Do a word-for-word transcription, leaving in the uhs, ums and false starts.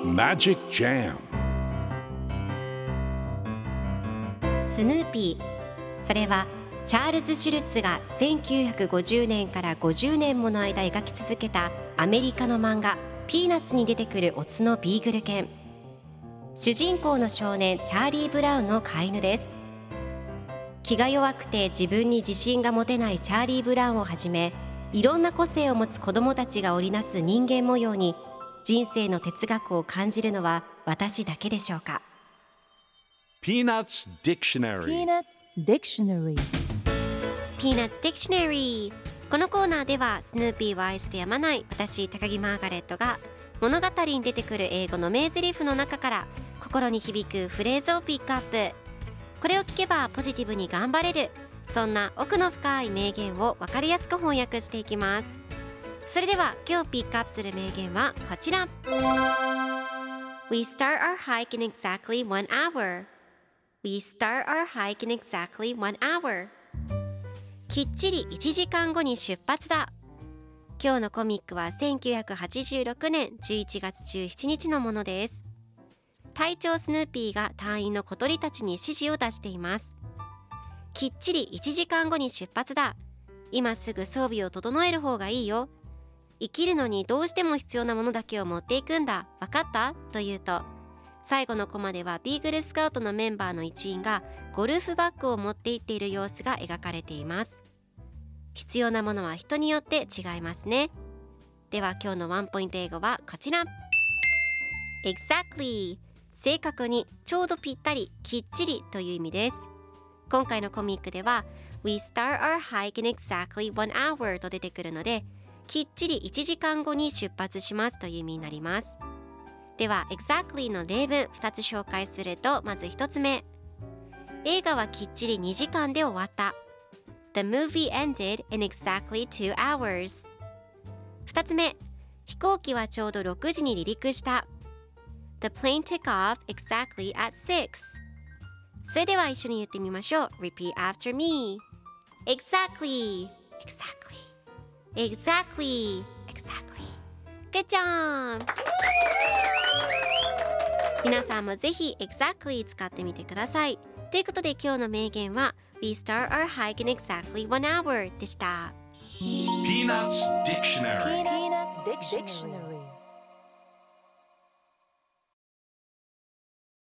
Magic Jam スヌーピー、それはチャールズ・シュルツがせんきゅうひゃくごじゅうねんからごじゅうねんもの間描き続けたアメリカの漫画ピーナッツに出てくるオスのビーグル犬。主人公の少年チャーリー・ブラウンの飼い犬です。気が弱くて自分に自信が持てないチャーリー・ブラウンをはじめ、いろんな個性を持つ子どもたちが織りなす人間模様に人生の哲学を感じるのは私だけでしょうか。 Peanuts Dictionary Peanuts Dictionary Peanuts Dictionary。 このコーナーではスヌーピーを愛してやまない私高木マーガレットが物語に出てくる英語の名台詞の中から心に響くフレーズをピックアップ。これを聞けばポジティブに頑張れる、そんな奥の深い名言を分かりやすく翻訳していきます。それでは今日ピックアップする名言はこちら。 We start our hike in exactly one hour. We start our hike in exactly one hour. きっちりいちじかんごに出発だ。今日のコミックはせんきゅうひゃくはちじゅうろくねんじゅういちがつじゅうしちにちのものです。隊長スヌーピーが隊員の小鳥たちに指示を出しています。きっちりいちじかんごに出発だ。今すぐ装備を整える方がいいよ。生きるのにどうしても必要なものだけを持っていくんだ。わかった?と言うと、最後のコマではビーグルスカウトのメンバーの一員がゴルフバッグを持って行っている様子が描かれています。必要なものは人によって違いますね。では今日のワンポイント英語はこちら。 Exactly、 正確に、ちょうどぴったり、きっちりという意味です。今回のコミックでは We start our hike in exactly one hour と出てくるので、きっちりいちじかんごに出発しますという意味になります。では exactly の例文ふたつ紹介すると、まずひとつめ、映画はきっちりにじかんで終わった。 The movie ended in exactly two hours。 ふたつめ、飛行機はちょうどろくじに離陸した。 The plane took off exactly at six。 それでは一緒に言ってみましょう。 Repeat after me。 Exactly Exactly Exactly Exactly Good job。 皆さんもぜひ Exactly 使ってみてください。ということで今日の名言は We start our hike in exactly one hour でした。 Peanuts Dictionary Peanuts Dictionary